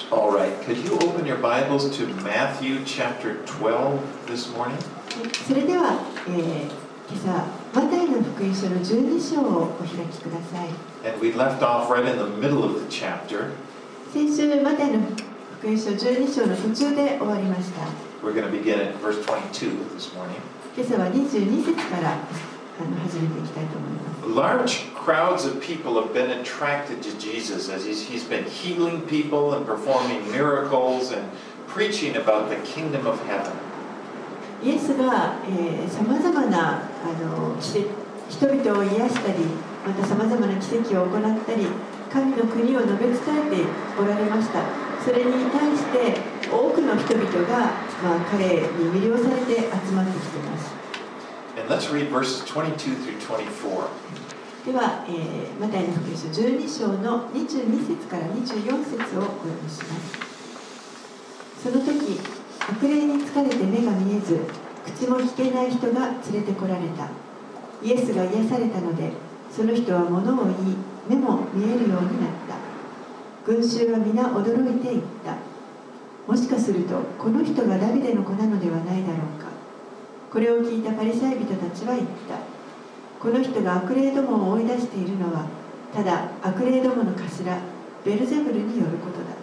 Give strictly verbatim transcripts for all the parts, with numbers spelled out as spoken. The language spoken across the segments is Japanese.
All right, could you open your Bibles to Matthew chapter twelve this morning? それでは、えー、今朝マタイの福音書のじゅうに章をお開きください。 And we left off right in the middle of the chapter. 先週マタイの福音書じゅうに章の途中で終わりました。 We're going to begin at verse twenty-two this morning. 今朝はにじゅうに節からあの始めていきたいと思います。 Large crowds of people have been attracted to Jesus as he's, he's been healing people and performing miracles and preaching about the kingdom of heaven. イエスがさまざまなあの奇跡人々を癒したり、またさまざまな奇跡を行ったり、神の国を述べ伝えておられました。それに対して多くの人々が、まあ、彼に魅了されて集まってきています。 And let's read verses twenty-two through twenty-four. では、えー、マタイの福音書じゅうに章のにじゅうに節からにじゅうよん節をお読みします。その時、悪霊に疲れて目が見えず、口も聞けない人が連れてこられた。イエスが癒されたので、その人は物を言い、目も見えるようになった。群衆は皆驚いていった。もしかすると、この人がダビデの子なのではないだろうか。これを聞いたパリサイ人たちは言った。この人が悪霊どもを追い出しているのは、ただ悪霊どもの頭、ベルゼブルによることだ。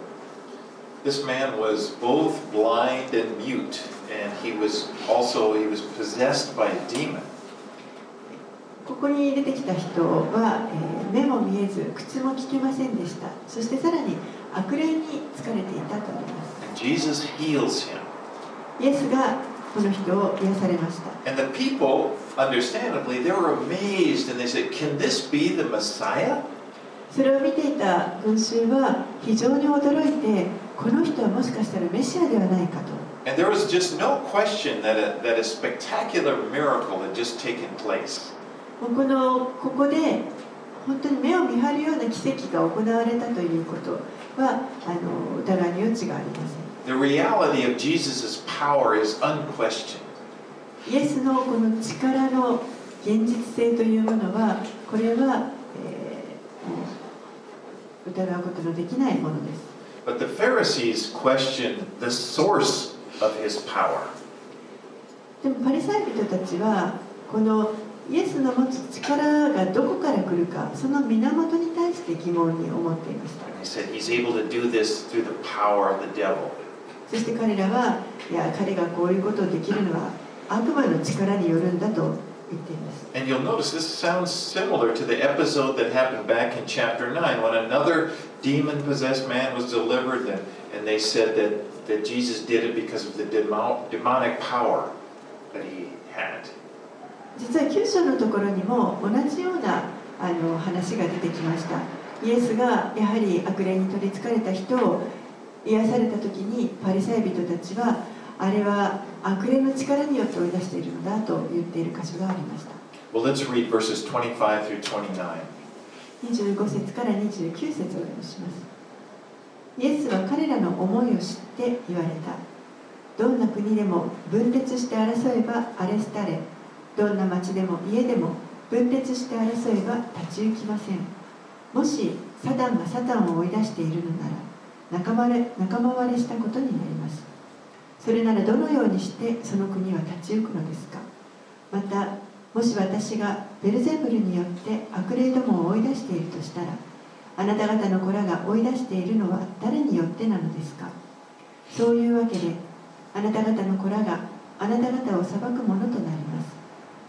This man was both blind and mute, and he was also he was possessed by a demon. ここに出てきた人は、えー、目も見えず、口も聞けませんでした。そしてさらに悪霊に疲れていたとあります。 And Jesus heals him. イエスがこの人を癒されました。 And the people, understandably, they were amazed, and they said, "Can this be the Messiah?" それを見ていた群衆は非常に驚いて、この人はもしかしたらメシアではないかと。 And there was just no question that a, that a spectacular miracle had just taken place. このここで本当に目を見張るような奇跡が行われたということはあの疑いに余地がありません。 The reality of Jesus' power is unquestioned. イエスのこの力の現実性というものは、これは、えー、疑うことのできないものです。 But the Pharisees questioned the source of his power. でもパリサイ人たちはこのイエスの持つ力がどこから来るか、その源に対して疑問に思っていました。 They said he's able to do this through the power of the devil. そして彼らは、いや、彼がこういうことをできるのは悪魔の力によるんだと言っています。 And you'll notice this sounds similar to the episode that happened back in chapter nine when another demon-possessed man was delivered, and, and they said that, that Jesus did it because of the demo, demonic power that he had. 実はきゅう章のところにも同じようなあの話が出てきました。イエスがやはり悪霊に取りつかれた人を癒された時に、パリサイ人たちはあれは悪霊の力によって追い出しているのだと言っている箇所がありました。 Well, let's read verses twenty-five through twenty-nine. にじゅうご節からにじゅうきゅう節をお読みします。イエスは彼らの思いを知って言われた。どんな国でも分裂して争えば荒れ廃れ、どんな町でも家でも分裂して争えば立ち行きません。もしサタンがサタンを追い出しているのなら、仲間割れ、仲間割れしたことになります。それならどのようにしてその国は立ち行くのですか。また、もし私がベルゼブルによって悪霊どもを追い出しているとしたら、あなた方の子らが追い出しているのは誰によってなのですか。そういうわけで、あなた方の子らがあなた方を裁くものとなります。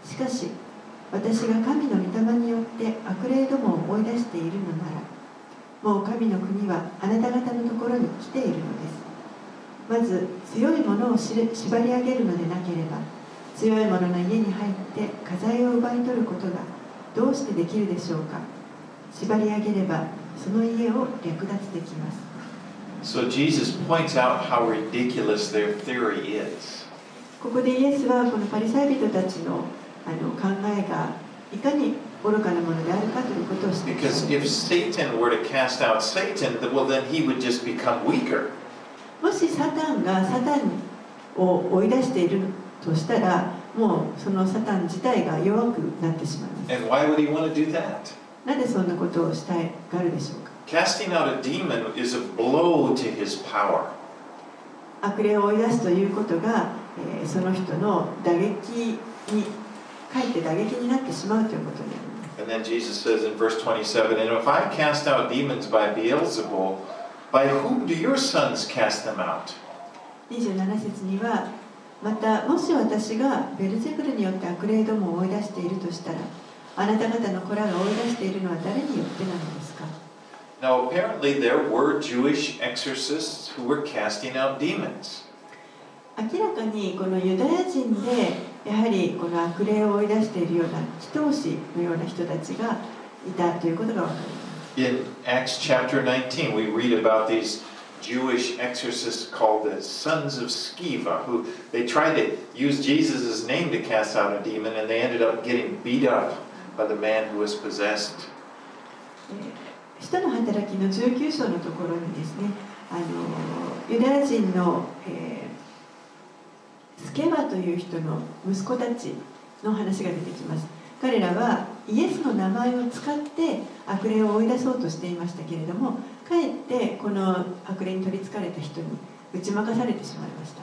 しかし、私が神の御霊によって悪霊どもを追い出しているのなら、もう神の国はあなた方のところに来ているのです。まず強いものを縛り上げるのでなければ、強い者の家に入って家財を奪い取ることがどうしてできるでしょうか。縛り上げればその家を略奪できます。 So Jesus points out how ridiculous their theory is. ここでイエスはこのパリサイ人たちのあの考えがいかに愚かなものであるかということを知っています。 Because if Satan were to cast out Satan, well then he would just become weaker. もしサタンがサタンを追い出しているとしたら、もうそのサタン自体が弱くなってしまいます。 And why would he want to do that? なぜそんなことをしたいがあるでしょうか。 Casting out a demon is a blow to his power. 悪霊を追い出すということが、えー、その人の打撃にかえって打撃になってしまうということになります。 And then Jesus says in verse twenty-seven, And if I cast out demons by Beelzebul, by whom do your sons cast them out? にじゅうなな節には、またもし私がベルゼブルによって悪霊どもを追い出しているとしたら、あなた方の子らが追い出しているのは誰によってなのですか？ Now apparently there were Jewish exorcists who were casting out demons. 明らかにこのユダヤ人でやはりこの悪霊を追い出しているような祈祷師のような人たちがいたということがわかります。 In Acts chapter nineteen, we read about these Jewish exorcists called the sons of Sceva, who they tried to use Jesus' name to cast out a demon, and they ended up getting beat up by the man who was possessed. 使徒の働きのじゅうきゅう章のところにですね、あのユダヤ人の、えー、スケバという人の息子たちの話が出てきます。彼らはイエスの名前を使って悪霊を追い出そうとしていましたけれども、かえってこの悪霊に取りつかれた人に打ち負かされてしまいました。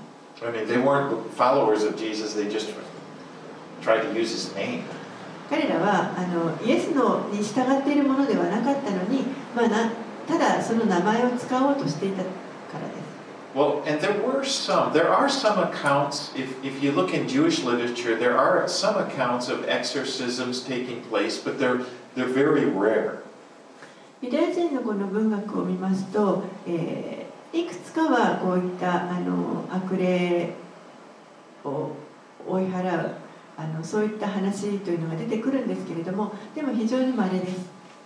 I mean, they weren't followers of Jesus, they just tried to use his name. 彼らはあのイエスのに従っているものではなかったのに、まあ、なただその名前を使おうとしていたからです。 Well, and there were some, there are some accounts, if, if you look in Jewish literature, there are some accounts of exorcisms taking place, but they're, they're very rare. ユダヤ人のこの文学を見ますと、えー、いくつかはこういったあの悪霊を追い払うあのそういった話というのが出てくるんですけれども、でも非常に稀です。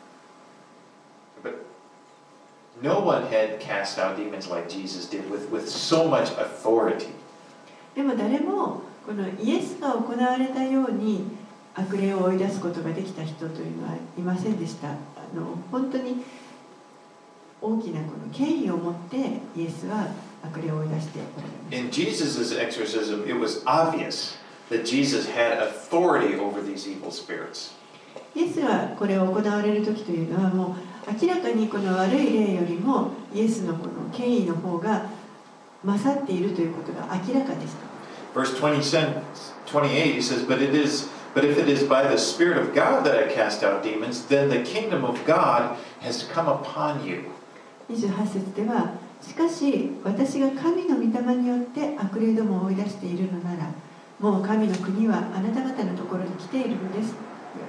But no one had cast out demons like Jesus did with, with so much authority. でも誰もこのイエスが行われたように悪霊を追い出すことができた人というのはいませんでした。あの本当に大きなこの権威を持ってイエスは悪霊を追い出しておられます。 In Jesus' exorcism, it was obvious that Jesus had authority over these evil spirits. イエスがこれを行われる時というのはもう明らかにこの悪い霊よりもイエスのこの権威の方が勝っているということが明らかでした。 Verse twenty-eight, he says, But it is, but if it is by the Spirit of God that I cast out demons, then the kingdom of God has come upon you. にじゅうはち節では、しかし私が神の御霊によって悪霊どもを追い出しているのなら、もう神の国はあなた方のところに来ているのです。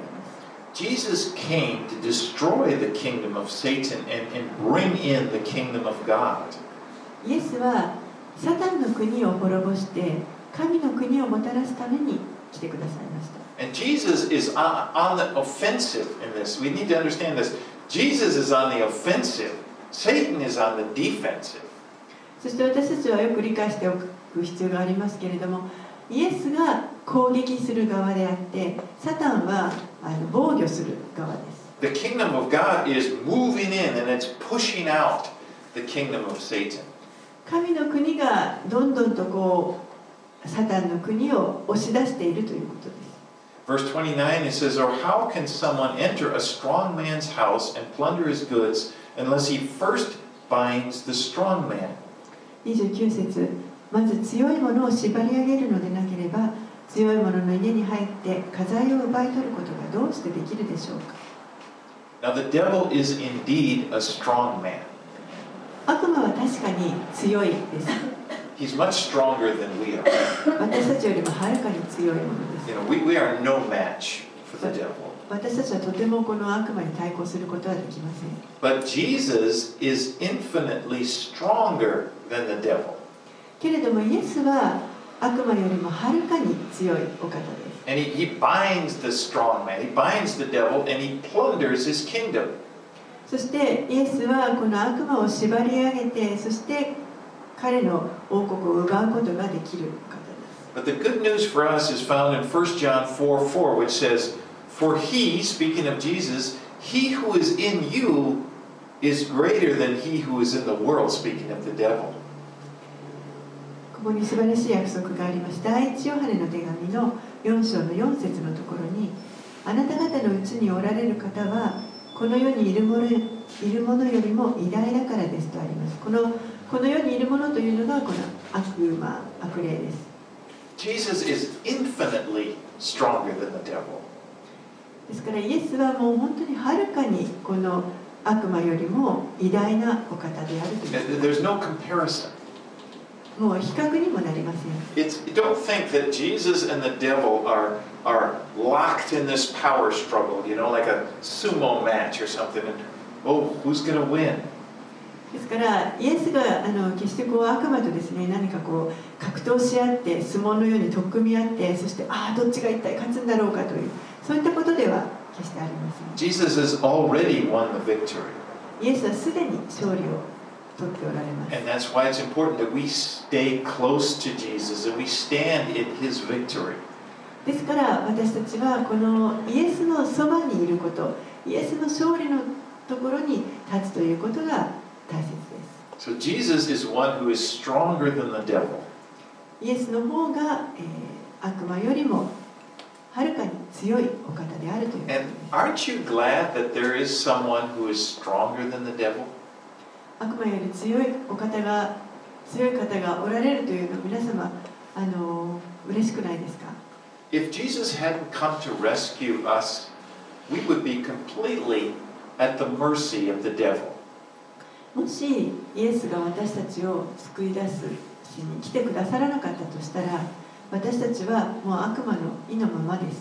Jesus came to destroy the kingdom of Satan and, and bring in the kingdom of God. イエスはサタンの国を滅ぼして神の国をもたらすために来てくださいました。 And Jesus is on, on the offensive in this. We need to understand this. Jesus is on the offensive. Satan is on the defensive. そして私たちはよく理解しておく必要がありますけれども、イエスが攻撃する側であって、サタンはあの防御する側です。 The kingdom of God is moving in and it's pushing out the kingdom of Satan. 神の国がどんどんとこうサタンの国を押し出しているということです。 Verse twenty-nine, it says, Or how can someone enter a strong man's house and plunder his goods unless he first binds the strong man? にじゅうきゅう節、まず強いものを縛り上げるのでなければ、強い者の家に入って家財を奪い取ることがどうしてできるでしょうか。 Now the devil is indeed a strong man. 悪魔は確かに強いです。 He's much stronger than we are. 私たちよりもはるかに強いものです。 You know, we, we are no match for the devil. 私たちはとてもこの悪魔に対抗することはできません。 But Jesus is infinitely stronger than the devil. けれどもイエスは悪魔よりもはるかに強いお方です。 And he, he binds the strong man, he binds the devil, and he plunders his kingdom. そしてイエスはこの悪魔を縛り上げて、そして彼の王国を奪うことができる方です。 But the good news for us is found in First John four four, which says, For he, speaking of Jesus, he who is in you is greater than he who is in the world, speaking of the devil. ここに素晴らしい約束があります。第一ヨハネの手紙のよん章のよん節のところに、あなた方のうちにおられる方はこの世にいるものいるものよりも偉大だからですとあります。このこの世にいるものというのがこの悪魔、悪霊です。 Jesus is infinitely stronger than the devil. ですからイエスはもう本当にはるかにこの悪魔よりも偉大なお方であるという。 There's no comparison. もう比較にもなりません。 It's, don't think that Jesus and the devil are, are locked in this power struggle, you know, like a sumo match or something. And, oh, who's going to win? ですからイエスがあの決してこう悪魔とですね何かこう格闘し合って相撲のように取っ組み合ってそしてああどっちが一体勝つんだろうかというそういったことでは決してありません。 Jesus has already won the victory. イエスはすでに勝利を取っておられます。 And that's why it's important that we stay close to Jesus and we stand in his victory. ですから私たちはこのイエスのそばにいることイエスの勝利のところに立つということが大切です。 So Jesus is one who is stronger than the devil. イエスの方が、えー、悪魔よりもはるかに強いお方であるということです。 And aren't you glad that there is someone who is stronger than the devil? 悪魔より強いお方が強い方がおられるというのを皆様あの嬉しくないですか？ If Jesus hadn't come to rescue us, we would be completely at the mercy of the devil. もしイエスが私たちを救い出すしに来てくださらなかったとしたら私たちはもう悪魔の意のままです。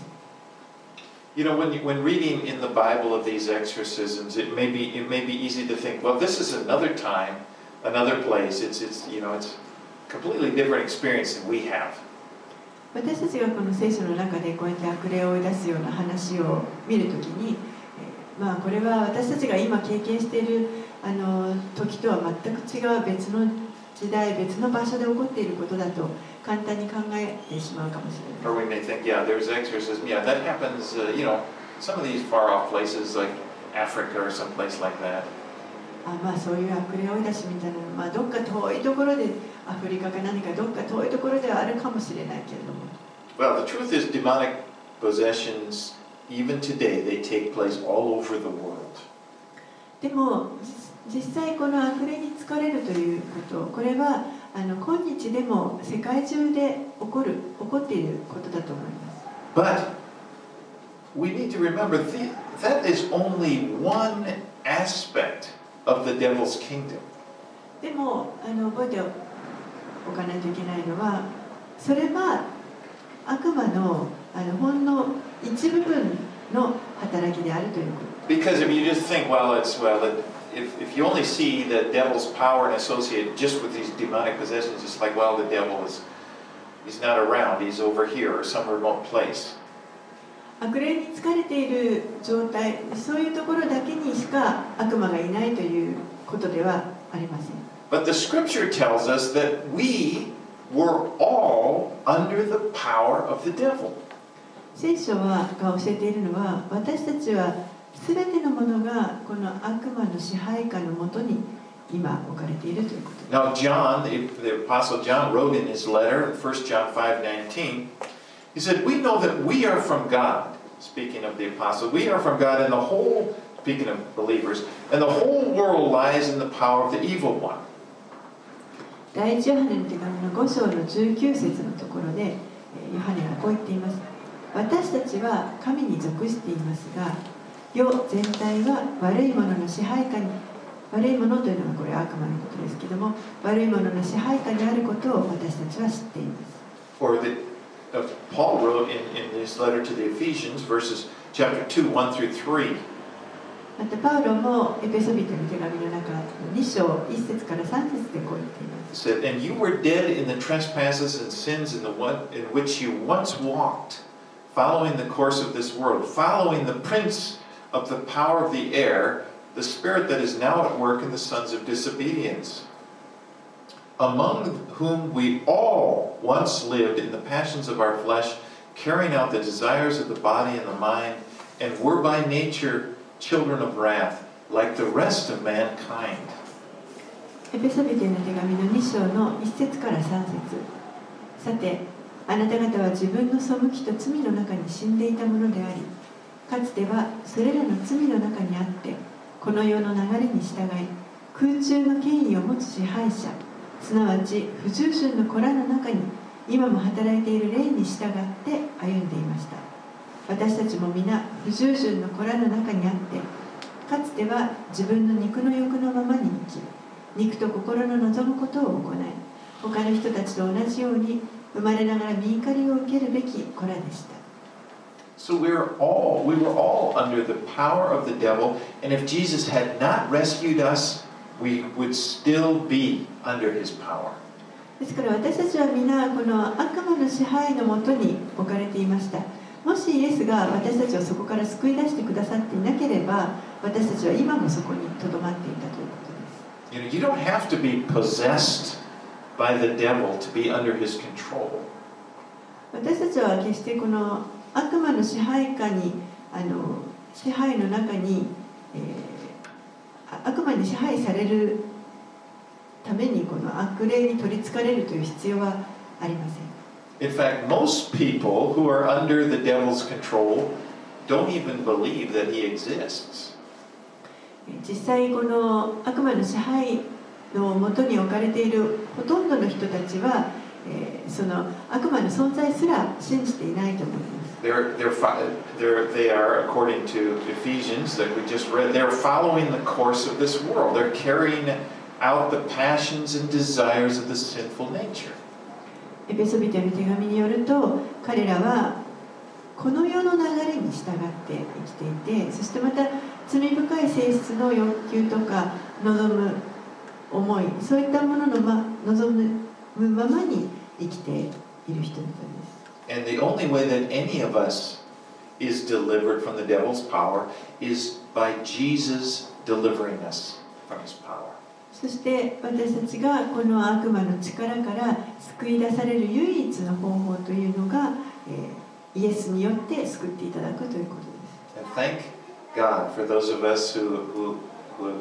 You know, when, you, when reading in the Bible of these exorcisms, it may be, it may be easy to think, well, this is another time, another place. It's, it's, you know, it's a completely different experience than we have. 私たちがこの聖書の中でこうやって悪霊を追い出すような話を見るときに、えー、まあこれは私たちが今経験しているあの時とは全く違う別の時代、別の場所で起こっていることだと簡単に考えてしまうかもしれない。 Or we may think, yeah, there's exorcism. Yeah, that happens, uh, you know, some of these far-off places like Africa or some place like that. あまあそういう悪霊追い出しみたいなのは、まあ、どっか遠いところでアフリカか何かどっか遠いところではあるかもしれないけれども。 Well, the truth is demonic possessions, even today, they take place all over the world. でも実際この悪霊に疲れるということ、これはあの今日でも世界中で起こる起こっていることだと思います。 But we need to remember the, that is only one aspect of the devil's kingdom. でもあの覚えておかないといけないのは、それは悪魔のあのほんの一部分の働きであるということ。 Because if you just think, well, it's well, it, if if you only see the devil's power and associate it just with these demonic possessions, it's like, well, the devil is he's not around, he's over here or some remote place. 悪霊に疲れている状態、そういうところだけにしか悪魔がいないということではありません。 But the scripture tells us that we were all under the power of the devil. 聖書はが教えているのは、私たちはすべてのものがこの悪魔の支配下のもとに今置かれているということです。 Now, John, the, the Apostle John, wrote in his letter in First John five nineteen, he said, we know that we are from God. Speaking of the Apostle, we are from God, and the whole, speaking of believers, and the whole world lies in the power of the evil one. 第一ヨハネの手紙のご章のじゅうきゅう節のところで、ヨハネはこう言っています。私たちは神に属していますが、世全体は悪いものの支配下に、悪いものというのはこれ悪魔のことですけども、悪いものの支配下にあることを私たちは知っています。 Or that uh, Paul wrote in, in his letter to the Ephesians, verses chapter two, one through three. またパウロもエペソビトの手紙の中のに章いち節からさん節でこう言っています。 It said, and you were dead in the trespasses and sins in the one in which you once walked, following the course of this world, following the prince of the power of the air, the spirit that is now at work in the sons of disobedience, among whom we all once lived in the passions of our flesh, carrying out the desires of the body and the mind, and were by nature children of wrath, like the rest of mankind. エペソビトへの手紙のに章のいち節からさん節。さて、あなた方は自分の背きと罪の中に死んでいたものであり、かつてはそれらの罪の中にあって、 この世の流れに従い、空中の権威を持つ支配者、すなわち不従順の子らの中に今も働いている霊に従って歩んでいました。私たちも皆不従順の子らの中にあって、かつては自分の肉の欲のままに生き、肉と心の望むことを行い、他の人たちと同じように生まれながら御怒りを受けるべき子らでした。 So we're all, we were all under the power of the devil, and if Jesus had not rescued us, we would still be under his power. ですから私たちは皆この悪魔の支配のもとに置かれていました。もしイエスが私たちをそこから救い出してくださっていなければ、私たちは今もそこにとどまっていたということです。 You know, you don't have to be possessed by the devil to be under his control. 私たちは決してこの悪魔の支配下に、あの支配の中に、えー、悪魔に支配されるためにこの悪霊に取りつかれるという必要はありません。 In fact, most people who are under the devil's control don't even believe that he exists. 実際この悪魔の支配のもとに置かれているほとんどの人たちは、えー、その悪魔の存在すら信じていないと思います。 They're, they're, they're, they are, according to Ephesians that we just read, they're following the course of this world. They're carrying out the passions and desires of the sinful nature. エペソビテの手紙によると、彼らはこの世の流れに従って生きていて、そしてまた罪深い性質の欲求とか望む思い、そういったものの、ま、望むままに生きている人々です。 And the only way that any of us is delivered from the devil's power is by Jesus delivering us from his power. そして私たちがこの悪魔の力から救い出される唯一の方法というのが、えー、イエスによって救っていただくということです。 And thank God for those of us who, who, who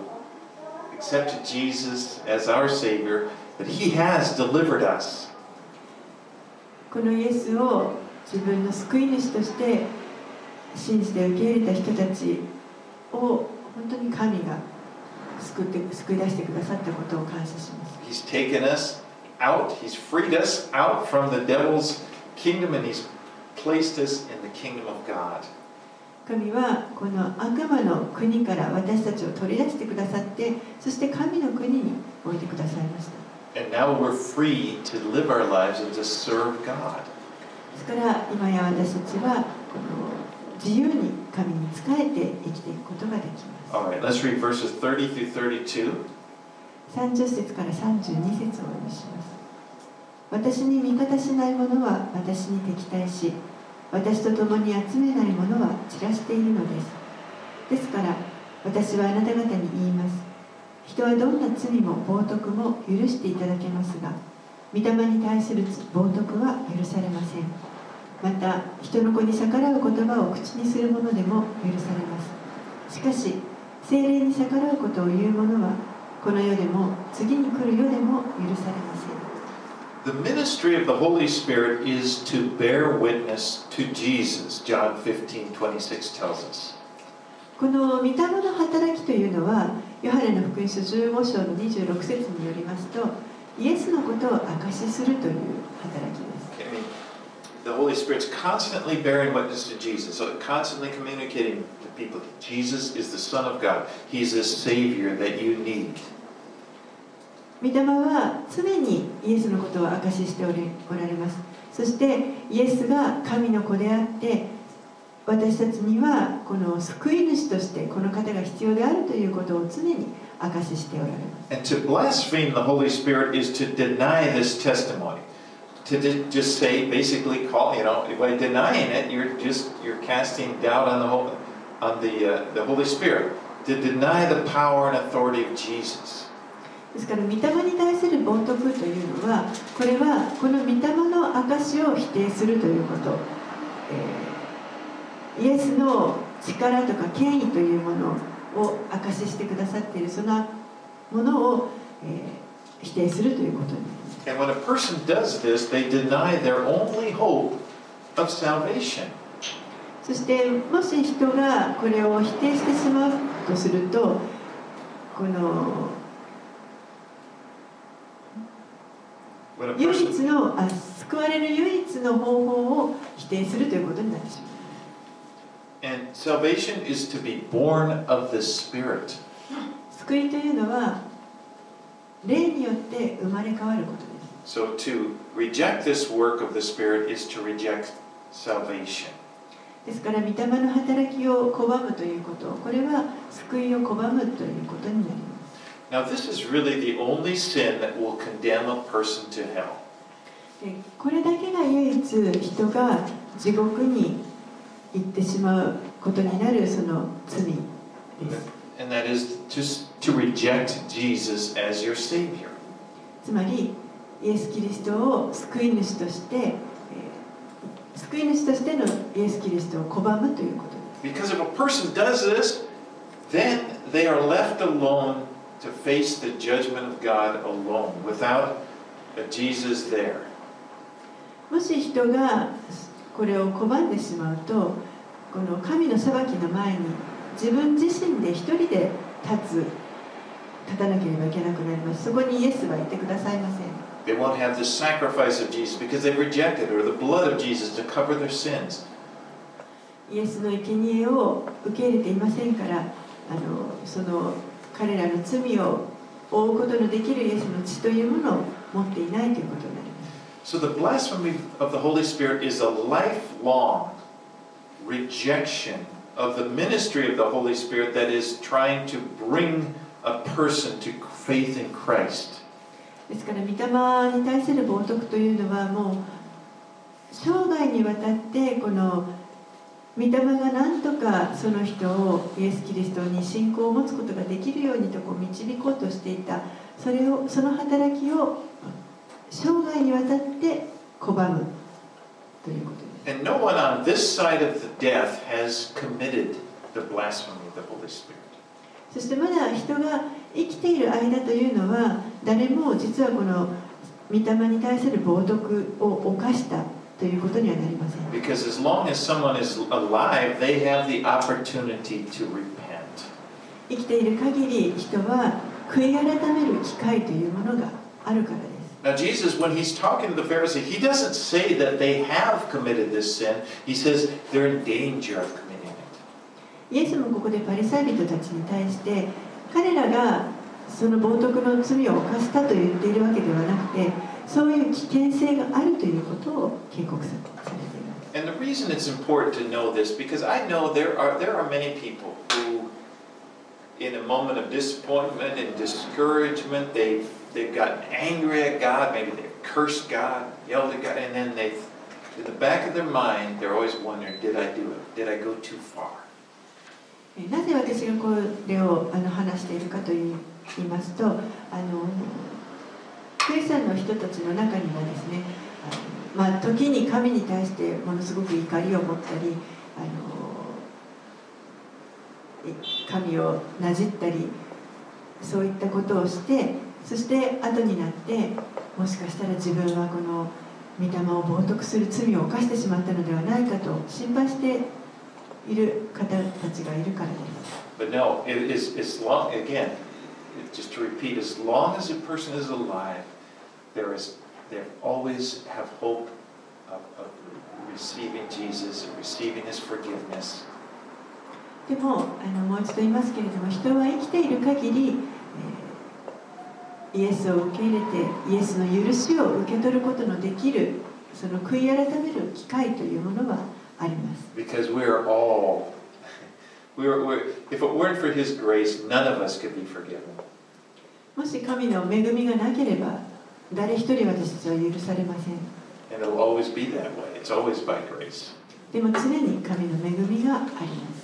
accepted Jesus as our Savior, that He has delivered us. このイエスを自分の救い主として信じて受け入れた人たちを本当に神が救って救い出してくださったことを感謝します。 He's taken us out, He's freed us out from the devil's kingdom, and He's placed us in the kingdom of God. 神はこの悪魔の国から私たちを取り出してくださって、そして神の国に置いてくださいました。 And now we're free to live our lives and to serve God. ですから今や私たちはこの自由に神に仕えて生きていくことができます。 All right, let's read verses thirty through thirty-two. さんじゅっ節からさんじゅうに節をお読みします。私に味方しない者は私に敵対し、私と共に集めない者は散らしているのです。ですから私はあなた方に言います。人はどんな罪も冒涜も許していただけますが、御霊に対する冒涜は許されません。また人の子に逆らう言葉を口にする者でも許されます。しかし聖霊に逆らうことを言う者はこの世でも次に来る世でも許されません。 The ministry of the Holy Spirit is to bear witness to Jesus, John fifteen twenty-six tells us. この御霊の働きというのは、ヨハネの福音書じゅうご章のにじゅうろく節によりますと、イエスのことを証しするという働きです。 I mean, the Holy Spirit's constantly bearing witness to Jesus, so constantly communicating to people. Jesus is the Son of God. He's the Savior that you need. 御霊は常にイエスのことを証ししておられます。そしてイエスが神の子であって、私たちにはこの救い主としてこの方が必要であるということを常に証ししておられます。 And to blaspheme the Holy Spirit is to deny this testimony. To just say, basically, call, you know, by denying it, you're just you're casting doubt on the whole, on the uh, the Holy Spirit. To deny the power and authority of Jesus. ですから御霊に対する冒涜というのは、これはこの御霊の証を否定するということ、えー、イエスの力とか権威というものを証ししてくださっているそのものを、えー、否定するということになります。 And when a person does this, they deny their only hope of salvation. そしてもし人がこれを否定してしまうとすると、 この When a 唯 person 一のあ救われる唯一の方法を否定するということになってしまう。 and salvation is to be born of the Spirit. 救いというのは霊によって生まれ変わることです。 So to reject this work of the Spirit is to reject salvation. ですから御霊の働きを拒むということ、これは救いを拒むということになります。 Now this is really the only sin that will condemn a person to hell. でこれだけが唯一人が地獄に行ってしまうことになるその罪です。 And that is just to reject Jesus as your Savior. つまりイエス・キリストを救い主として、えー、救い主としてのイエス・キリストを拒むということです。 Because if a person does this, then they are left alone to face the judgment of God alone, without a Jesus there. もし人がこれを拒んでしまうと、この神の裁きの前に自分自身で一人で立つ、立たなければいけなくなります。そこにイエスはいてくださいません。 They won't have the sacrifice of Jesus because they've rejected, or the blood of Jesus to cover their sins. イエスの生贄を受け入れていませんから、あのその彼らの罪を負うことのできるイエスの血というものを持っていないということになります。 So the blasphemy of the Holy Spirit is a lifelong rejection of the ministry of the Holy Spirit that is trying to bring a person to faith in Christ. ですから御霊に対する冒涜というのはもう生涯にわたってこの御霊が何とかその人をイエス・キリストに信仰を持つことができるようにとこう導こうとしていた、それをその働きを生涯にわたって拒むということです。 And no one on this side of the death has committed the blasphemy of the Holy Spirit. そしてまだ人が生きている間というのは誰も実はこの御霊に対する冒涜を犯したということにはなりません。 Because as long as someone is alive, they have the opportunity to repent. 生きている限り人は悔い改める機会というものがあるからです。 Now Jesus, when he's talking to the Pharisees, he doesn't say that they have committed this sin. He says they're in danger of committing it. イエスもここでパリサイ人たちに対して彼らがその冒涜の罪を犯したと言っているわけではなくて、そういう危険性があるということを警告されています。 And the reason it's important to know this, because I know there are there are many people who, in a moment of disappointment and discouragement, they've they've gotten angry at God, maybe they've cursed God, yelled at God, and then they, in the back of their mind, they're always wondering, did I do it? Did I go too far? なぜ私がこれをあの話しているかといいますと、あのクリスチャンの人たちの中にはですね、あのまあ、時に神に対してものすごく怒りを持ったり、あの神をなじったり、そういったことをして、そして後になってもしかしたら自分はこの御霊を冒涜する罪を犯してしまったのではないかと心配している方たちがいるからです。 But no, it is as long again, just to repeat, as long as a person is alive, there is they always have hope of, of receiving Jesus and receiving His forgiveness. でもあのもう一度言いますけれども、人は生きている限り、えー、イエスを受け入れてイエスの許しを受け取ることのできるその悔い改める機会というものはあります。 Because we are all, we are, we're, if it weren't for His grace, none of us could be forgiven. もし神の恵みがなければ、誰一人私たちは許されません。 And it'll always be that way. It's always by grace. でも常に神の恵みがあります。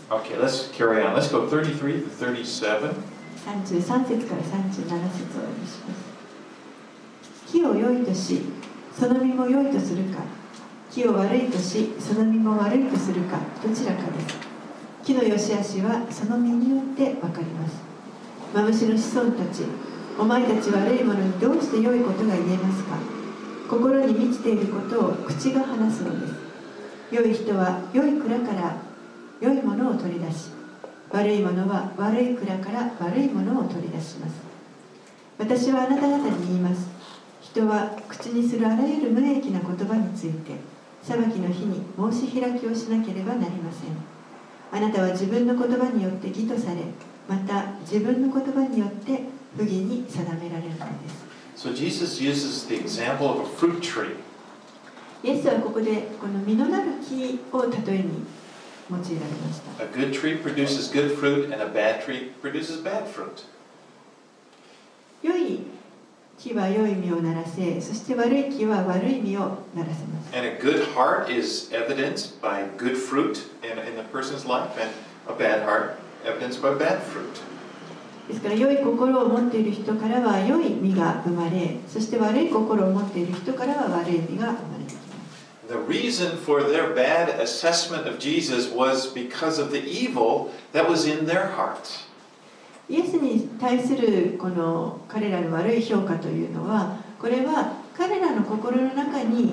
Okay, let's carry on. Let's go thirty-three to thirty-seven. さんじゅうさん節からさんじゅうなな節をお読みします。木を良いとし、その実も良いとするか、木を悪いとし、その実も悪いとするか、どちらかです。木の良し悪しはその実によってわかります。マムシの子孫たち、お前たち悪いものにどうして良いことが言えますか。心に満ちていることを口が話すのです。良い人は良い蔵から良いものを取り出し、 悪いものは悪い蔵から悪いものを取り出します。私はあなた方に言います。人は口にするあらゆる無益な言葉について裁きの日に申し開きをしなければなりません。あなたは自分の言葉によって義とされ、また自分の言葉によって不義に定められるのです。 So Jesus uses the example of a fruit tree. イエスはここでこの実のなる木を例えに用いられました。 A good tree produces good fruit, and a bad tree produces bad fruit. 良い木は良い実をならせ、そして悪い木は悪い実をならせます。 And a good heart is evidenced by good fruit in, in the person's life, and a bad heart evidenced by bad fruit. ですから良い心を持っている人からは良い実が生まれ、そして悪い心を持っている人からは悪い実が生まれてきます。 The reason for their bad assessment of Jesus was because of the evil that was in their hearts. イエスに対するこの彼らの悪い評価というのは、これは彼らの心の中に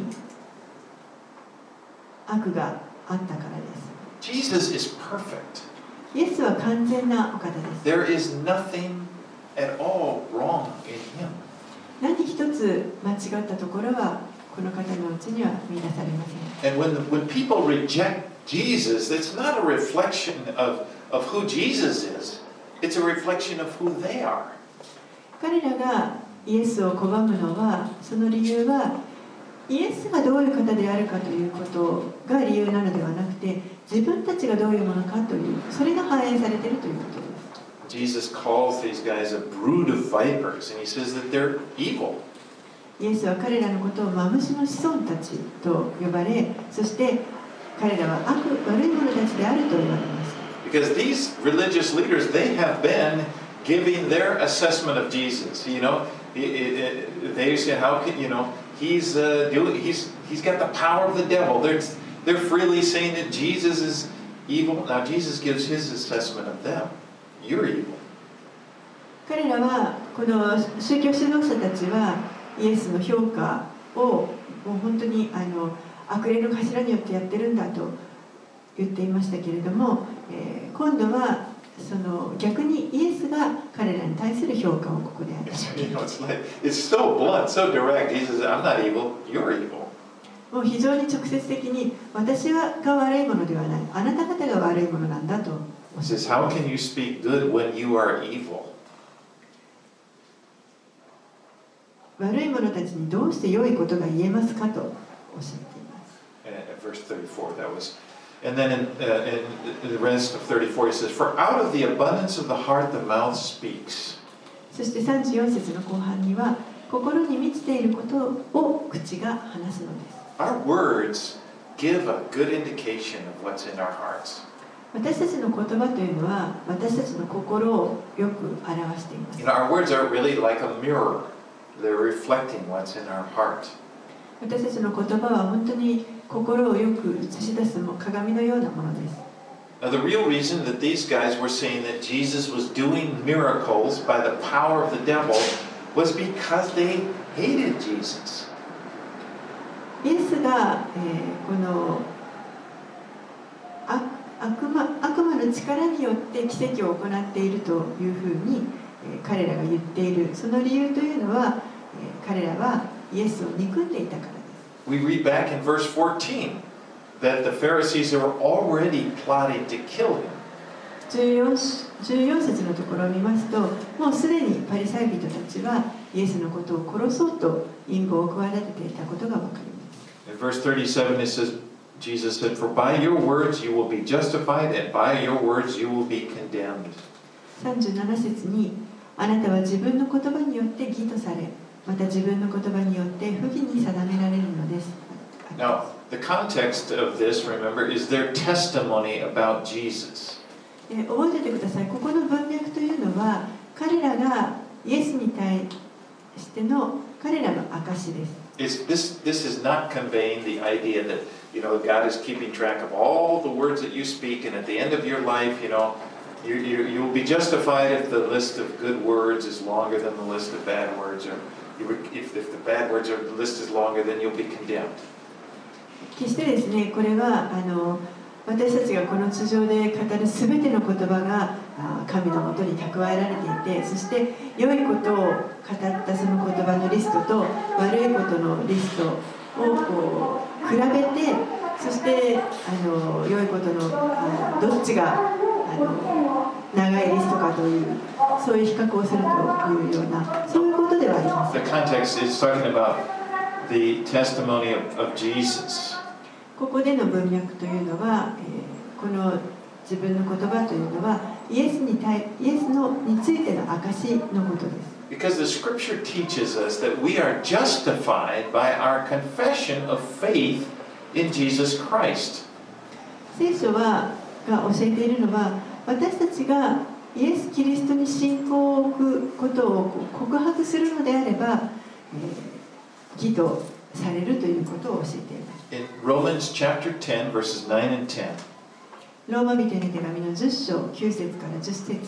悪があったからです。 Jesus is perfect. イエスは完全なお方です。 There is nothing at all wrong in him. 何一つ間違ったところはこの方のうちには見出されません。 And when, the, when people reject Jesus, it's not a reflection of, of who Jesus is. It's a reflection of who they are. 彼らがイエスを拒むのは、その理由はイエスがどういう方であるかということが理由なのではなくて、自分たちがどういうものかという、それが反映されているということです。 Jesus calls these guys a brood of vipers, and he says that they're evil. イエスは彼らのことをマムシの子孫たちと呼ばれ、そして彼らは悪、悪い者たちであると言われます。 Because these religious leaders, they have been giving their assessment of Jesus. You know, they say, how can, you know, he's, uh, doing, he's, he's got the power of the devil. They're, they're freely saying that Jesus is evil. Now, Jesus gives his assessment of them. You're evil. 彼らは、この宗教指導者たちは、イエスの評価をもう本当にあの悪霊の頭によってやってるんだと言っていましたけれども、えー、今度はその逆にイエスが彼らに対する評価をここで与えます。 You know, it's like, it's so blunt, so direct. He says, I'm not evil, you're evil. もう非常に直接的に私が悪いものではない、あなた方が悪いものなんだとおっしゃっています。 He says, how can you speak good when you are evil? 悪い者たちにどうして良いことが言えますかとおっしゃっています。 And verse thirty-four, that was. And then in, uh, in the rest of thirty-four, he says, for out of the abundance of the heart, the mouth speaks. そしてさんじゅうよん節の後半には、心に満ちていることを口が話すのです。 Our words give a good indication of what's in our hearts. 私たちの言葉というのは、私たちの心をよく表しています。 You know, our words are really like a mirror. They're reflecting what's in our heart. 私たちの言葉は本当に心をよく映し出す鏡のようなものです。 Now, the real reason that these guys were saying that Jesus was doing miracles by the power of the devil was because they hated Jesus. イエスが、えー、この悪悪魔、悪魔の力によって奇跡を行っているというふうに、えー、彼らが言っている。その理由というのは、えー、彼らはイエスを憎んでいたからです。 We read back in verse fourteen that the Pharisees were already plotting to kill him. じゅうよん, じゅうよん節のところを見ますと、もうすでにパリサイ人たちはイエスのことを殺そうと陰謀を企てていたことがわかります。 In verse thirty-seven it says, Jesus said, for by your words you will be justified, and by your words you will be condemned. さんじゅうなな節に、あなたは自分の言葉によって義とされ、また自分の言葉によって不義に定められるのです。 Now, the context of this, remember, is their testimony about Jesus. 覚えておいてください。ここの文脈というのは、彼らがイエスに対しての彼らの証です。 It's, this, this is not conveying the idea that, you know, God is keeping track of all the words that you speak, and at the end of your life, you know, you, you, you will be justified if the list of good words is longer than the list of bad words, or if, if the bad words are, the list is longer, then you'll be condemned. 決してですね、これはあの私たちがこの地上で語るすべての言葉が神のもとに蓄えられていて、そして良いことを語ったその言葉のリストと悪いことのリストをこう比べて、そしてあの良いことのあのどっちがあの長いリストかという、そういう比較をするというような、そういうことではあります。 The context is talking about the testimony of, of Jesus. ここでの文脈というのは、えー、この自分の言葉というのはイエスに対イエスのについての証のことです。 Because the scripture teaches us that we are justified by our confession of faith in Jesus Christ. 聖書はが教えているのは、私たちがイエス・キリストに信仰を置くことを告白するのであれば、えー、義とされるということを教えています。 In Romans chapter ten, verses nine and ten, ローマ人への手紙のじゅっ章きゅう節からじゅっ節。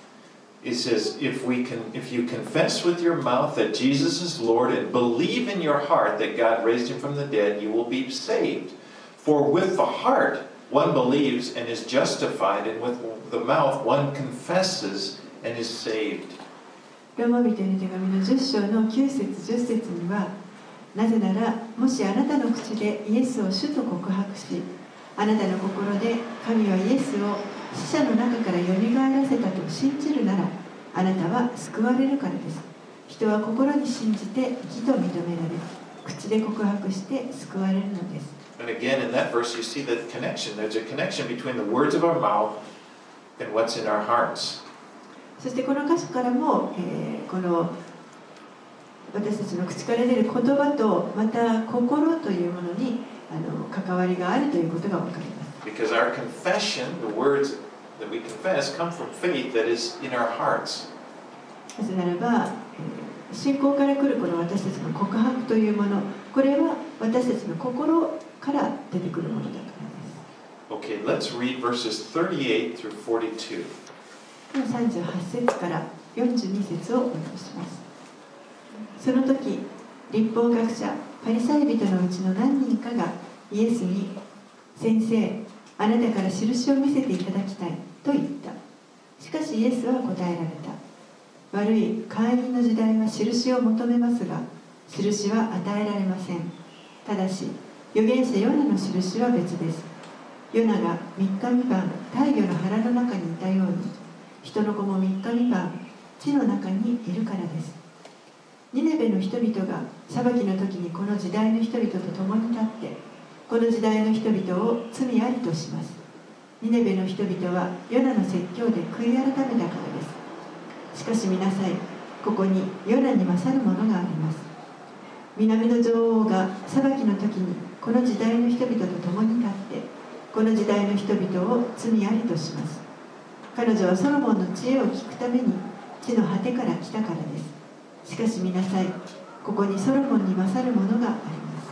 it says, if we can, if you confess with your mouth that Jesus is Lord and believe in your heart that God raised him from the dead, you will be saved. For with the heart one believes and is justified, and with the mouth one confesses and is saved. ローマ人への手紙のじゅっ章のきゅう節じゅっ節には、なぜなら、もしあなたの口でイエスを主と告白し、あなたの心で神はイエスを死者の中からよみがえらせたと信じるなら、あなたは救われるからです。人は心に信じて義と認められ、口で告白して救われるのです。 And again, in that verse, you see the connection. There's a connection between the words of our mouth and what's in our hearts. そしてこの箇所からも、えー、この私たちの口から出る言葉とまた心というものにあの関わりがあるということが分かります。 Because our confession, the words that we confess, come from faith that is in our hearts. なぜならば、えー、信仰から来るこの私たちの告白というもの、これは私たちの心から出てくるものだからです。 Okay, let's read verses thirty-eight through forty-two. さんじゅうはち節からよんじゅうに節をお読みします。その時、律法学者、パリサイ人のうちの何人かがイエスに、先生、あなたから印を見せていただきたいと言った。しかしイエスは答えられた。悪い会員の時代は印を求めますが、印は与えられません。ただし、預言者ヨナの印は別です。ヨナがみっかみばん大魚の腹の中にいたように、人の子もみっかみばん地の中にいるからです。ニネベの人々が裁きの時にこの時代の人々と共に立って、この時代の人々を罪ありとします。ニネベの人々はヨナの説教で悔い改めたからです。しかし見なさい、ここにヨナに勝るものがあります。南の女王が裁きの時にこの時代の人々と共に立って、この時代の人々を罪ありとします。彼女はソロモンの知恵を聞くために地の果てから来たからです。しかし見なさい、ここにソロモンに勝るものがあります。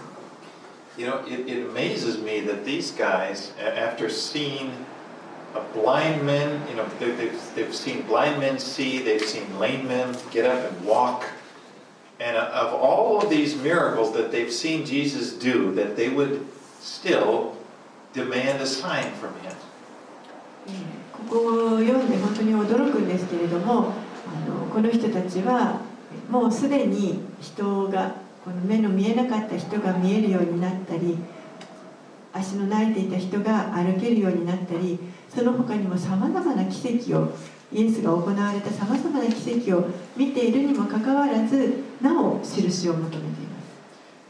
You know, it, it amazes me that these guys, after seeing a blind men, you know, they, they've, they've seen blind men see, they've seen lame men get up and walk, and of all of these miracles that they've seen Jesus do, that they would still demand a sign from him. ここを読んで本当に驚くんですけれども、あのこの人たちはもうすでに人がこの目の見えなかった人が見えるようになったり、足の泣いていた人が歩けるようになったり、その他にもさまざまな奇跡を、イエスが行われたさまざまな奇跡を見ているにもかかわらず、なお印を求めています。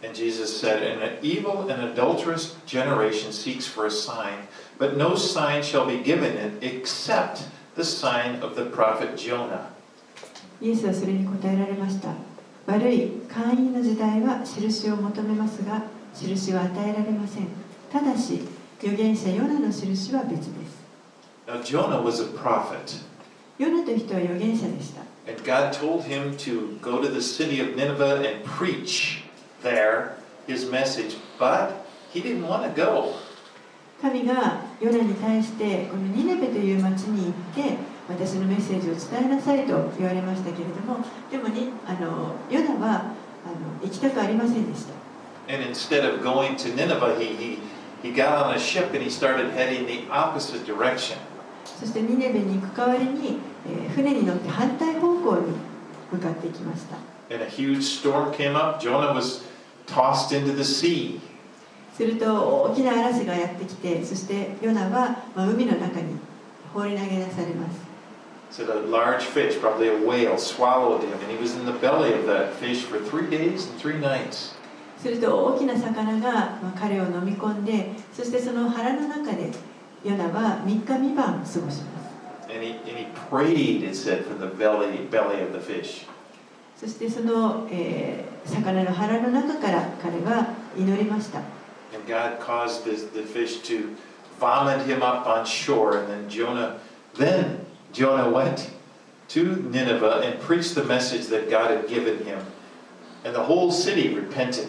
And Jesus said, an evil and adulterous generation seeks for a sign, but no sign shall be given it except the sign of the prophet Jonah. イエスはそれに答えられました。悪い会員の時代は印を求めますが、印は与えられません。ただし、預言者ヨナの印は別です。 Now, Jonah was a prophet. ヨナという人は預言者でした。 And God told him to go to the city of Nineveh and preach there his message, but he didn't want to go. 神がヨナに対してこのニネベという町に行って私のメッセージを伝えなさいと言われましたけれども、でもにあのヨナはあの行きたくありませんでした。 And instead of going to Nineveh, he, he, he got on a ship and he started heading the opposite direction. そしてニネベに行く代わりに、えー船に乗って反対方向に向かっていきました。 And a huge storm came up. Jonah was tossed into the sea. すると大きな嵐がやってきて、そしてヨナは、まあ、海の中に放り投げ出されます。 So a large fish, probably a whale, swallowed him, and he was in the belly of that fish for three days and three nights. すると大きな魚が、まあ、彼を飲み込んで、そしてその腹の中でヨナはみっかみばん過ごします。 And he, and he prayed, it said, from the belly, belly of the fish. そしてその、えー、魚の腹の中から彼は祈りました。 And God caused this, the fish to vomit him up on shore, and then Jonah, then Jonah went to Nineveh and preached the message that God had given him, and the whole city repented.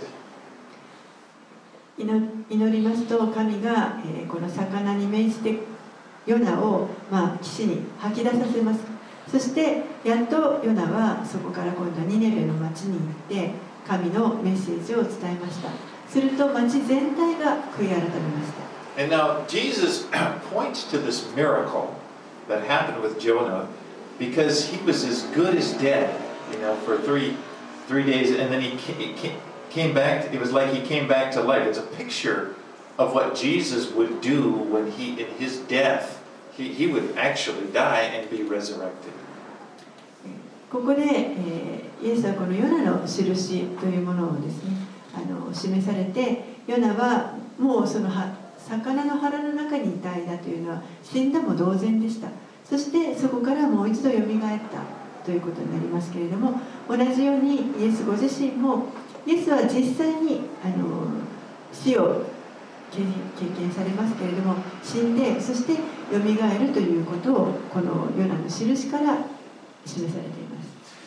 祈りますと神が、えー、この魚に命じてヨナを、まあ、岸に吐き出させます。そしてやっとヨナはそこから今度はニネベの町に行って神のメッセージを伝えました。すると町全体が悔い改めました。 And now Jesus points to this miracle that happened with Jonah because he was as good as dead, you know, for three three days, and then he came, came back. It was like he came back to life. It's a picture of what Jesus would do when he, in his death, he, he would actually die and be resurrected. ここで、えー、イエスはこのヨナの印というものをですね、あの示されて、ヨナはもうそのは魚の腹の中にいた間というのは死んだも同然でした。そしてそこからもう一度よみがえったということになりますけれども、同じようにイエスご自身もイエスは実際にあの死を経験されますけれども、死んでそしてよみがえるということをこのヨナの印から示されています。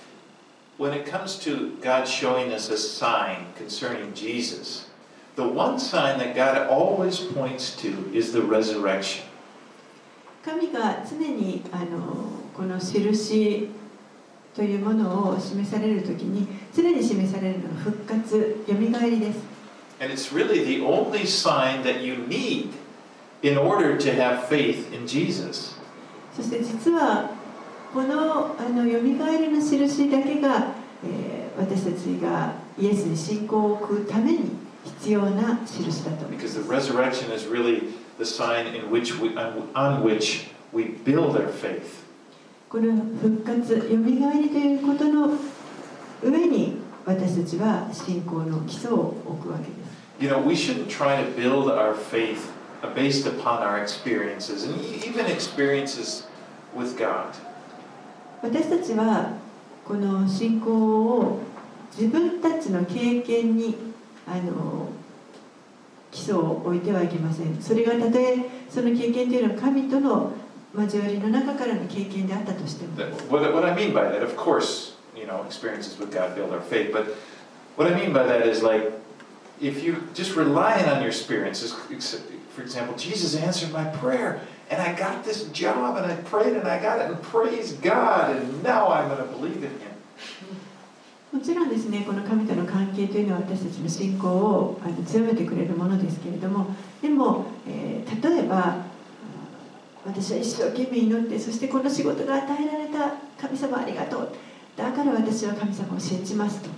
When it comes to God showing us a sign concerning Jesus, the one sign that God always points to is the resurrection. 神が常にあのこの印というものを示されるときに常に示されるのが復活、よみがえりです。 And it's really the only sign that you need in order to have faith in Jesus. そして実はこのあのよみがえりの印だけが、えー、私たちがイエスに信仰を置くために必要な印だと思います。 Because the resurrection is really the sign in which we, on which we build our faith. この復活、よみがえりということの上に私たちは信仰の基礎を置くわけです。 You know, we shouldn't try to build our faith based upon our experiences, and even experiences with God. 私たちはこの信仰を自分たちの経験にあの基礎を置いてはいけません。それがたとえその経験というのは神との交わりの中からの経験であったとしても。 What, what I mean by that, of course, you know, experiences with God build our faith, but what I mean by that is like, if you just relying on your experiences, for example, Jesus answered my prayer, and I got this job, and I prayed, and I got it, and praise God, and now I'm going to believe in Him. もちろんですね、この神との関係というのは私たちの信仰をあの強めてくれるものですけれども、でも、えー、例えば私は一生懸命祈って、そしてこの仕事が与えられた神様ありがとう、だから私は神様を信じますと。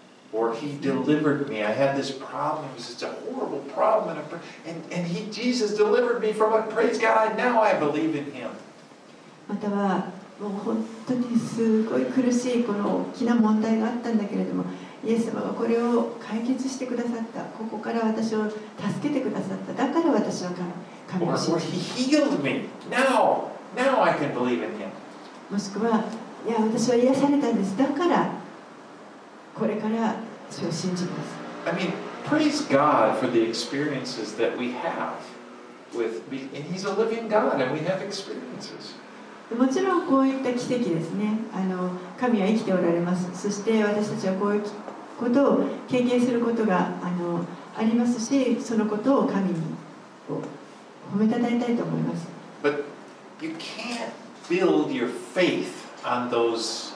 Or He delivered me. I had this problem. It was such a horrible problem, and, and, and He, Jesus, delivered me from it. Praise God! Now I believe in Him. またはもう本当にすごい苦しいこの大きな問題があったんだけれども、イエス様がこれを解決してくださった。ここから私を助けてくださった。だから私は神を信 Or, or じ He healed me. Now, now I can believe in Him. もしくは、いや私は癒されたんです。だからこれからそれを信じます。 I mean, praise God for the experiences that we have with, and He's a living God, and we have experiences. もちろんこういった奇跡ですね。あの神は生きておられます。そして私たちはこういうことを経験することがあのありますし、そのことを神に褒めたたえたいと思います。 But you can't build your faith on those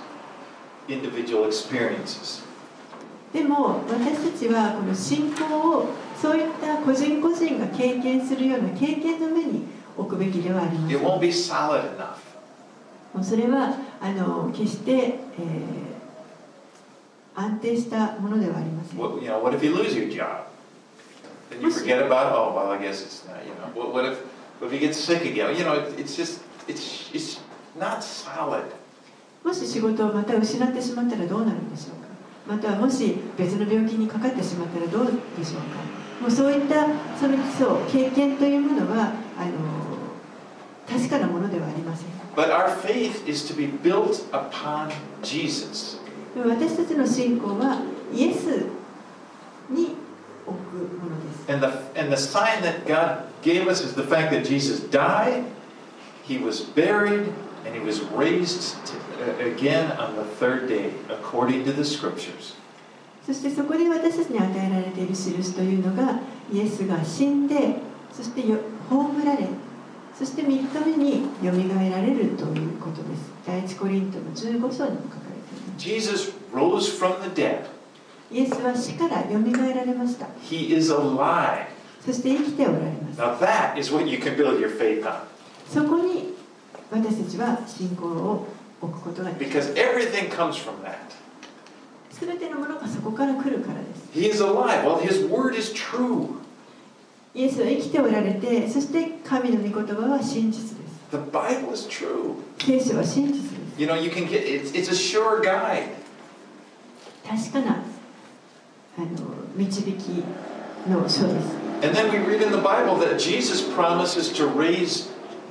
individual experiences. でも私たちはこの信仰をそういった個人個人が経験するような経験の上に置くべきではありませ It ん。 won't be solid enough. もうそれはあの決して、えー、安定したものではありません。 What, you know, what if you lose your job? Then you forget about, oh, well, I guess it's not, you know. What, what if what if you get sick again? You know, it, it's just, it's, it's not solid. もし仕事をまた失ってしまったらどうなるんでしょうか。またはもし別の病気にかかってしまったらどうでしょうか。もうそういったその基礎経験というものはあの確かなものではありません。 But our faith is to be built upon Jesus. 私たちの信仰はイエスに置くものです。 And the, and the sign that God gave us is the fact that Jesus died, He was buried, and He was raised to, uh, again on the third day, according to the Scriptures. そしてそこで私たちに与えられている印というのがイエスが死んで、そしてよ葬られ、そしてみっかめによみがえられるということです。第一コリントのじゅうご章にも書かれています。 Jesus rose from the dead. イエスは死からよみがえられました。 He is alive. そして生きておられます。 Now that is what you can build your faith on. そこに私たちは信仰を置くことができます。 Because everything comes from that. すべてのものがそこから来るからです。 He is alive. Well, His word is true. イエスは生きておられて、そして神の御言葉は真実です。 The Bible is true. 聖書は真実です。 You know, you can get, it's, it's a sure guide. 確かなあの導きの書です。 And then we read in the Bible that Jesus promises to raise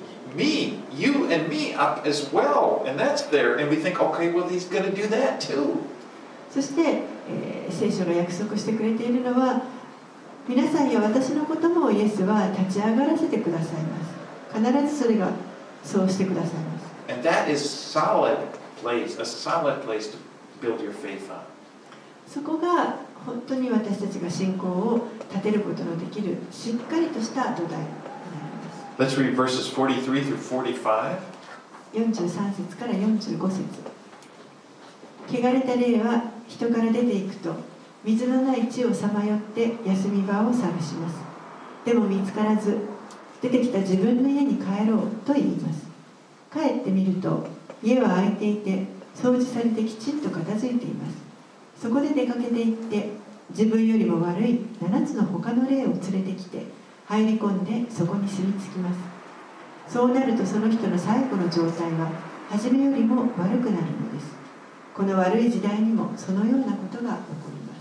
me, you and me up as well. And that's there. And we think, okay, well, He's going to do that too. そして、えー、聖書が約束してくれているのは、皆さんや私のこともイエスは立ち上がらせてくださいます。必ずそれがそうしてくださいます。 And that is solid place, a solid place to build your faith on. そこが本当に私たちが信仰を立てることのできるしっかりとした土台になります。 Let's read verses forty-three through forty-five. よんじゅうさん節からよんじゅうご節。汚れた霊は人から出ていくと、水のない地をさまよって休み場を探します。でも見つからず、出てきた自分の家に帰ろうと言います。帰ってみると、家は空いていて、掃除されてきちんと片付いています。そこで出かけていって、自分よりも悪いななつの他の霊を連れてきて、入り込んでそこに住み着きます。そうなるとその人の最後の状態は、初めよりも悪くなるのです。この悪い時代にもそのようなことが起こります。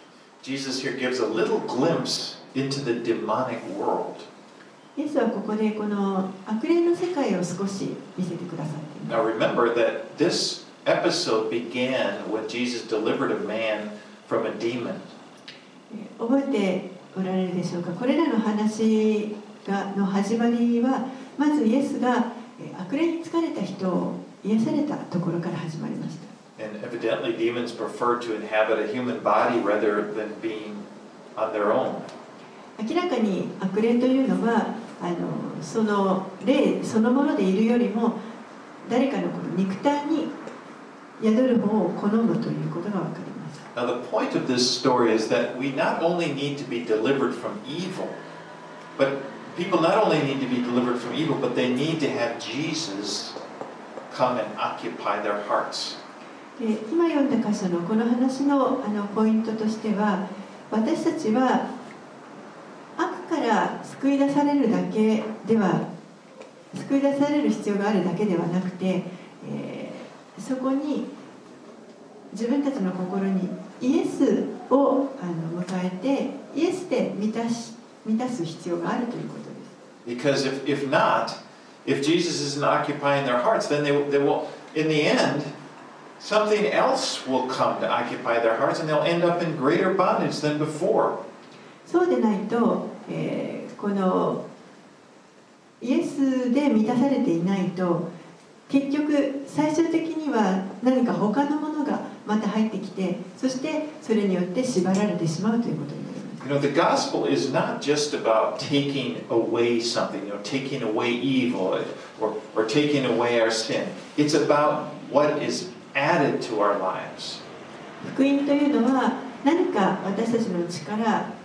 Jesus here gives a little glimpse into the demonic world. イエスはここでこの悪霊の世界を少し見せてくださっています。 Now remember that this episode began when Jesus delivered a man from a demon. 覚えておられるでしょうか。これらの話がの始まりは、まずイエスが悪霊に疲れた人を癒されたところから始まりました。 And evidently demons prefer to inhabit a human body rather than being on their own. 明らかに悪霊というのはあのその霊そのものでいるよりも誰かのこの肉体に宿る方を好むということがわかります。 Now the point of this story is that we not only need to be delivered from evil, but people not only need to be delivered from evil, but they need to have Jesus come and occupy their hearts. で今読んだ箇所のこの話 の, あのポイントとしては、私たちは悪から救い出されるだけでは救い出される必要があるだけではなくて、えー、そこに自分たちの心にイエスをあの迎えてイエスで満たし満たす必要があるということです。 Because if, if not, if Jesus isn't occupying their hearts, then they, they will, in the end, something else will come to occupy their hearts and they'll end up in greater bondage than before. そうでないと、えー、このイエスで満たされていないと、結局最終的には何か他のものがまた入ってきて、そしてそれによって縛られてしまうということになります。 You know, the gospel is not just about taking away something, you know, taking away evil or, or taking away our sin. It's about what is added to our lives. 福音というのは何か私たちのうちから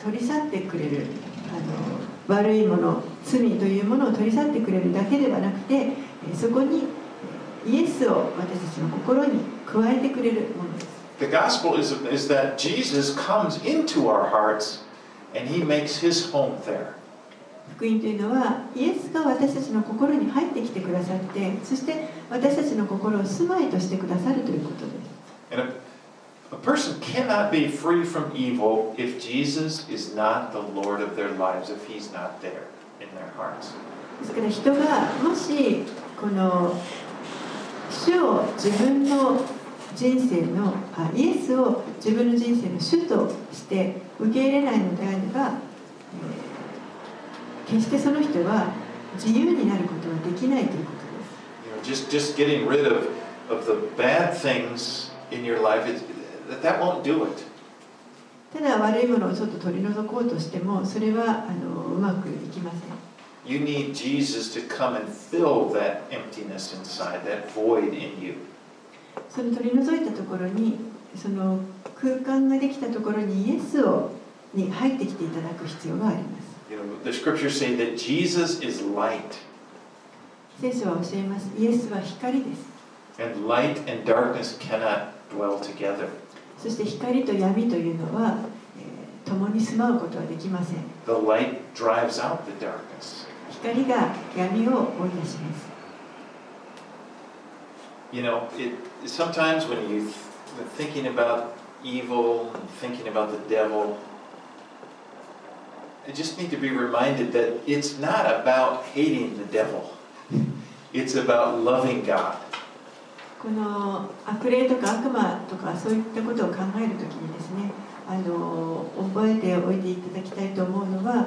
取り去ってくれる、あの悪いもの、罪というものを取り去ってくれるだけではなくて、そこにイエスを私たちの心に加えてくれるものです。 The gospel is, is that Jesus comes into our hearts and he makes his home there. 福音というのは、イエスが私たちの心に入ってきてくださって、そして私たちの心を住まいとしてくださるということです。 And a, a person cannot be free from evil if Jesus is not the Lord of their lives, if he's not there in their hearts. ですから人がもしこの主を自分の人生のあイエスを自分の人生の主として受け入れないのであれば、えー決してその人は自由になることはできないということです。 You know, just, just getting rid of, of the bad things in your life, it, that, that won't do it. ただ悪いものをちょっと取り除こうとしても、それはあのうまくいきません。 You need Jesus to come and fill that emptiness inside, that void in you. その取り除いたところに、その空間ができたところにイエスをに入ってきていただく必要があります。 You know, the scriptures say that Jesus is light. 聖書は教えます。イエスは光です。 And light and darkness cannot dwell together. そして光と闇というのは、えー、共に住まうことはできません。 The light drives out the darkness. 光が闇を追い出します。 You know, it, sometimes when you're thinking about evil and thinking about the devil, I just need to be reminded that it's not about hating the devil. It's about loving God. この悪霊とか悪魔とかそういったことを考えるときにですね、あの覚えておいていただきたいと思うのは、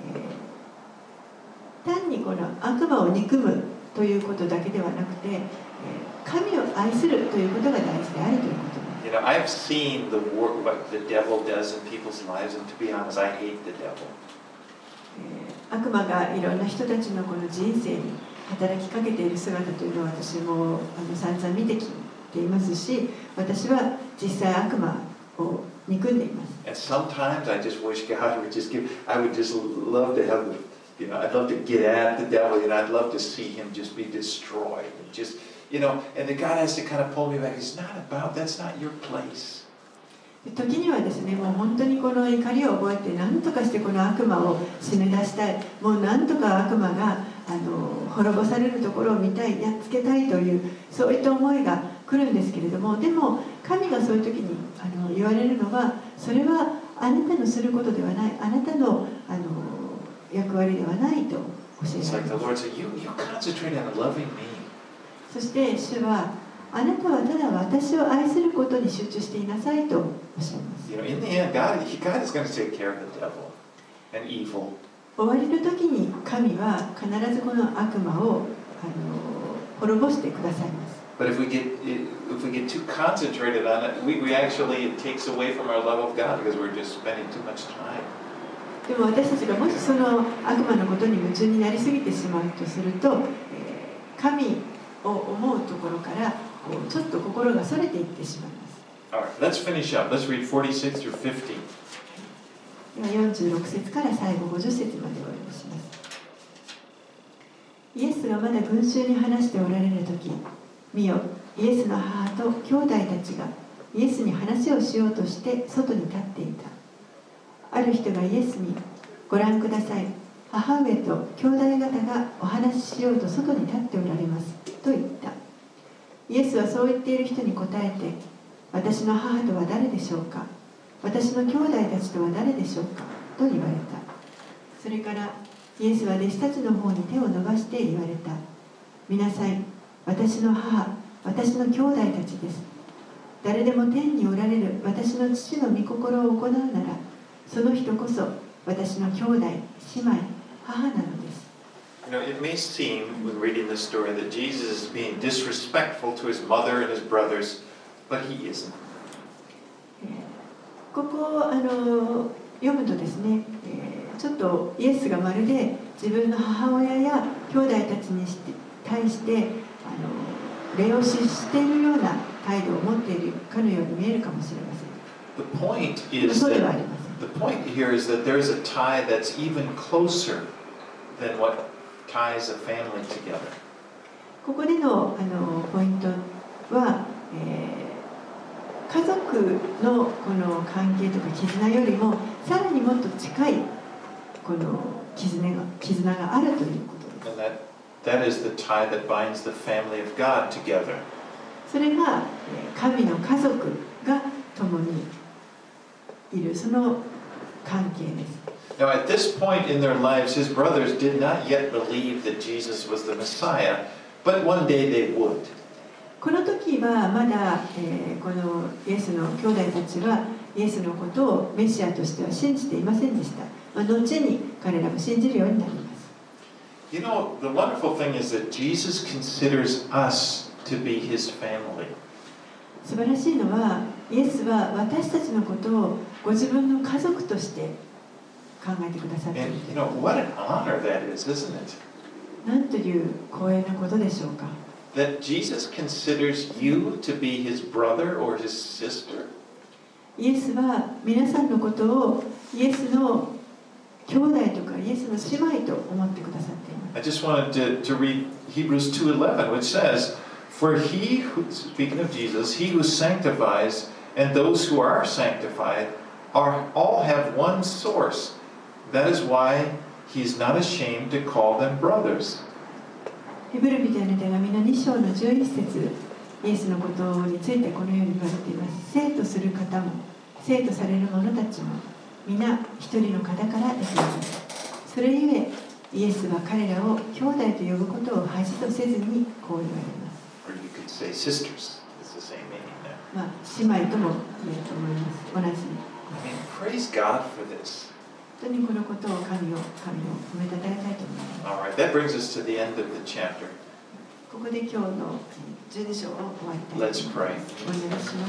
えー、単にこの悪魔を憎むということだけではなくて、えー、神を愛するということが大事であるということです。 You know, I've seen the work, what the devil does in people's lives, and to be honest, I hate the devil. 悪魔がいろんな人たちのこの人生に働きかけている姿というのは私もあの散々見てきていますし、私は実際悪魔を憎んでいます。 And sometimes I just wish God would just give, I would just love to have, you know, I'd love to get at the devil, and I'd love to see him just be destroyed. And just, you know, and then God has to kind of pull me back. It's not about, that's not your place. 時にはですね、もう本当にこの怒りを覚えて何とかしてこの悪魔を締め出したい、もう何とか悪魔があの滅ぼされるところを見たい、やっつけたいというそういった思いが来るんですけれども、でも神がそういう時にあの言われるのは、それはあなたのすることではない、あなたの、あの役割ではないと教えられます。そして主はあなたはただ私を愛することに集中していなさいとおっしゃいます。 You know, in the end, God, God is going to take care of the devil and evil. 終わりの時に神は必ずこの悪魔をあの滅ぼしてくださいます。 But if we get if we get too concentrated on it, we, we actually it takes away from our love of God because we're just spending too much time. でも私たちがもしその悪魔のことに夢中になりすぎてしまうとすると、えー、神を思うところからちょっと心がそれていってしまいます。 Alright, let's finish up. Let's read forty-six through fifty. ではよんじゅうろく節から最後ごじゅっ節までお読みします。イエスがまだ群衆に話しておられるとき、見よ、イエスの母と兄弟たちがイエスに話をしようとして外に立っていた。ある人がイエスに、ご覧ください、母上と兄弟方がお話ししようと外に立っておられますと言った。イエスはそう言っている人に答えて、私の母とは誰でしょうか、私の兄弟たちとは誰でしょうかと言われた。それからイエスは弟子たちの方に手を伸ばして言われた。見なさい、私の母、私の兄弟たちです。誰でも天におられる私の父の御心を行うなら、その人こそ私の兄弟、姉妹、母なのです。 You know, it may seem when reading this story that Jesus is being disrespectful to his mother and his brothers, but he isn't. ここをあの読むとですね、えー、ちょっとイエスがまるで自分の母親や兄弟たちにして対してあの礼をししているような態度を持っているかのように見えるかもしれません。 The point is そうではありません。 The point here is that there's a tie that's even closer than what ties a family together. ここでの、あのポイントは、えー家族のこの関係とか絆よりもさらにもっと近いこの絆が、絆があるということです。 And that, that is the tie that binds the family of God together. それが神の家族が共にいるその関係です。 Now, at this point in their lives, his brothers did not yet believe that Jesus was the Messiah, but one day they would. この時はまだ、えー、このイエスの兄弟たちはイエスのことをメシアとしては信じていませんでした。まあ、後に彼らも信じるようになります。 You know, the wonderful thing is that Jesus considers us to be his family. 素晴らしいのは、イエスは私たちのことをご自分の家族として考えてくださっている。 And you know, what an honor that is, isn't it? なんという光栄なことでしょうか。 That Jesus considers you to be his brother or his sister. イエスは皆さんのことをイエスの兄弟とかイエスの姉妹と思ってくださっています。 I just wanted to, to read Hebrews two eleven, which says, For he, who, speaking of Jesus, he who sanctifies and those who are sanctified are all have one source. That is why he's not ashamed to call them brothers. ヘブル人への手紙のに章のじゅういち節、イエスのことについてこのように言われています。生とする方も生とされる者たちも皆一人の方から出ています。それゆえイエスは彼らを兄弟と呼ぶことを恥とせずにこう言われます。 Or you could say sisters. It's the same meaning there. まあ、姉妹とも言えると思います。同じ。 I mean, praise God for this. 本当にこのことを神を神を褒めたたえたいと思います。 All right, that brings us to the end of the chapter. ここで今日のじゅうに章を終わりたいと Let's 思い pray. ます。お願いします。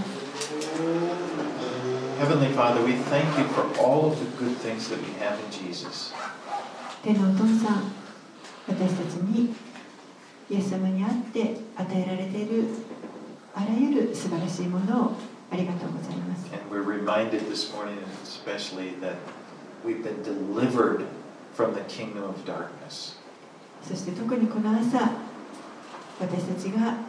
Heavenly Father, we thank you for all of the good things that we have in Jesus. 天のお父さん、私たちにイエス様にあって与えられているあらゆる素晴らしいものをありがとうございます。 And we're reminded this morning especially that we've been delivered from the kingdom of darkness. そして特にこの朝、私たちが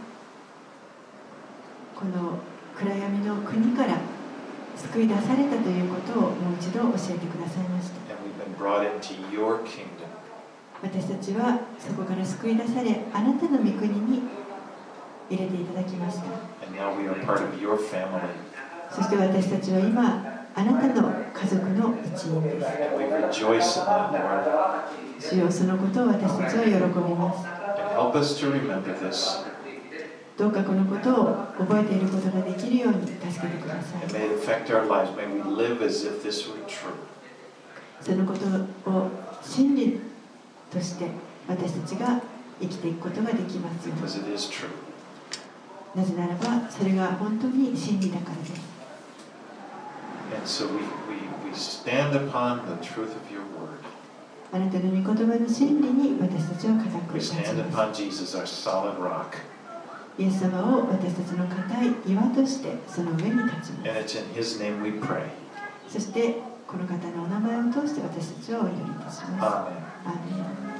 この暗闇の国から救い出されたということをもう一度教えてくださいました。 And we've been brought into your kingdom. 私たちはそこから救い出され、あなたの御国に入れていただきました。 And now we are part of your family. そして私たちは今、あなたの家族の一員です。 And we rejoice in that, Lord. 主よ、そのことを私たちは喜びます。 And help us to remember this. どうかこのことを覚えていることができるように助けてください。 And may it affect our lives. May we live as if this were true. そのことを真理として私たちが生きていくことができますように。 Because it is true. なぜならばそれが本当に真理だからです。 And so we, we, we stand upon the truth of your word. あなたの御言葉の真理に私たちは固く We 立ち stand ます。 upon Jesus, our solid rock. イエス様を私たちの固い岩としてその上に立ちま And it's in his name we pray. す。そしてこの方のお名前を通して私たちはお祈りいたします。 Amen. アーメン。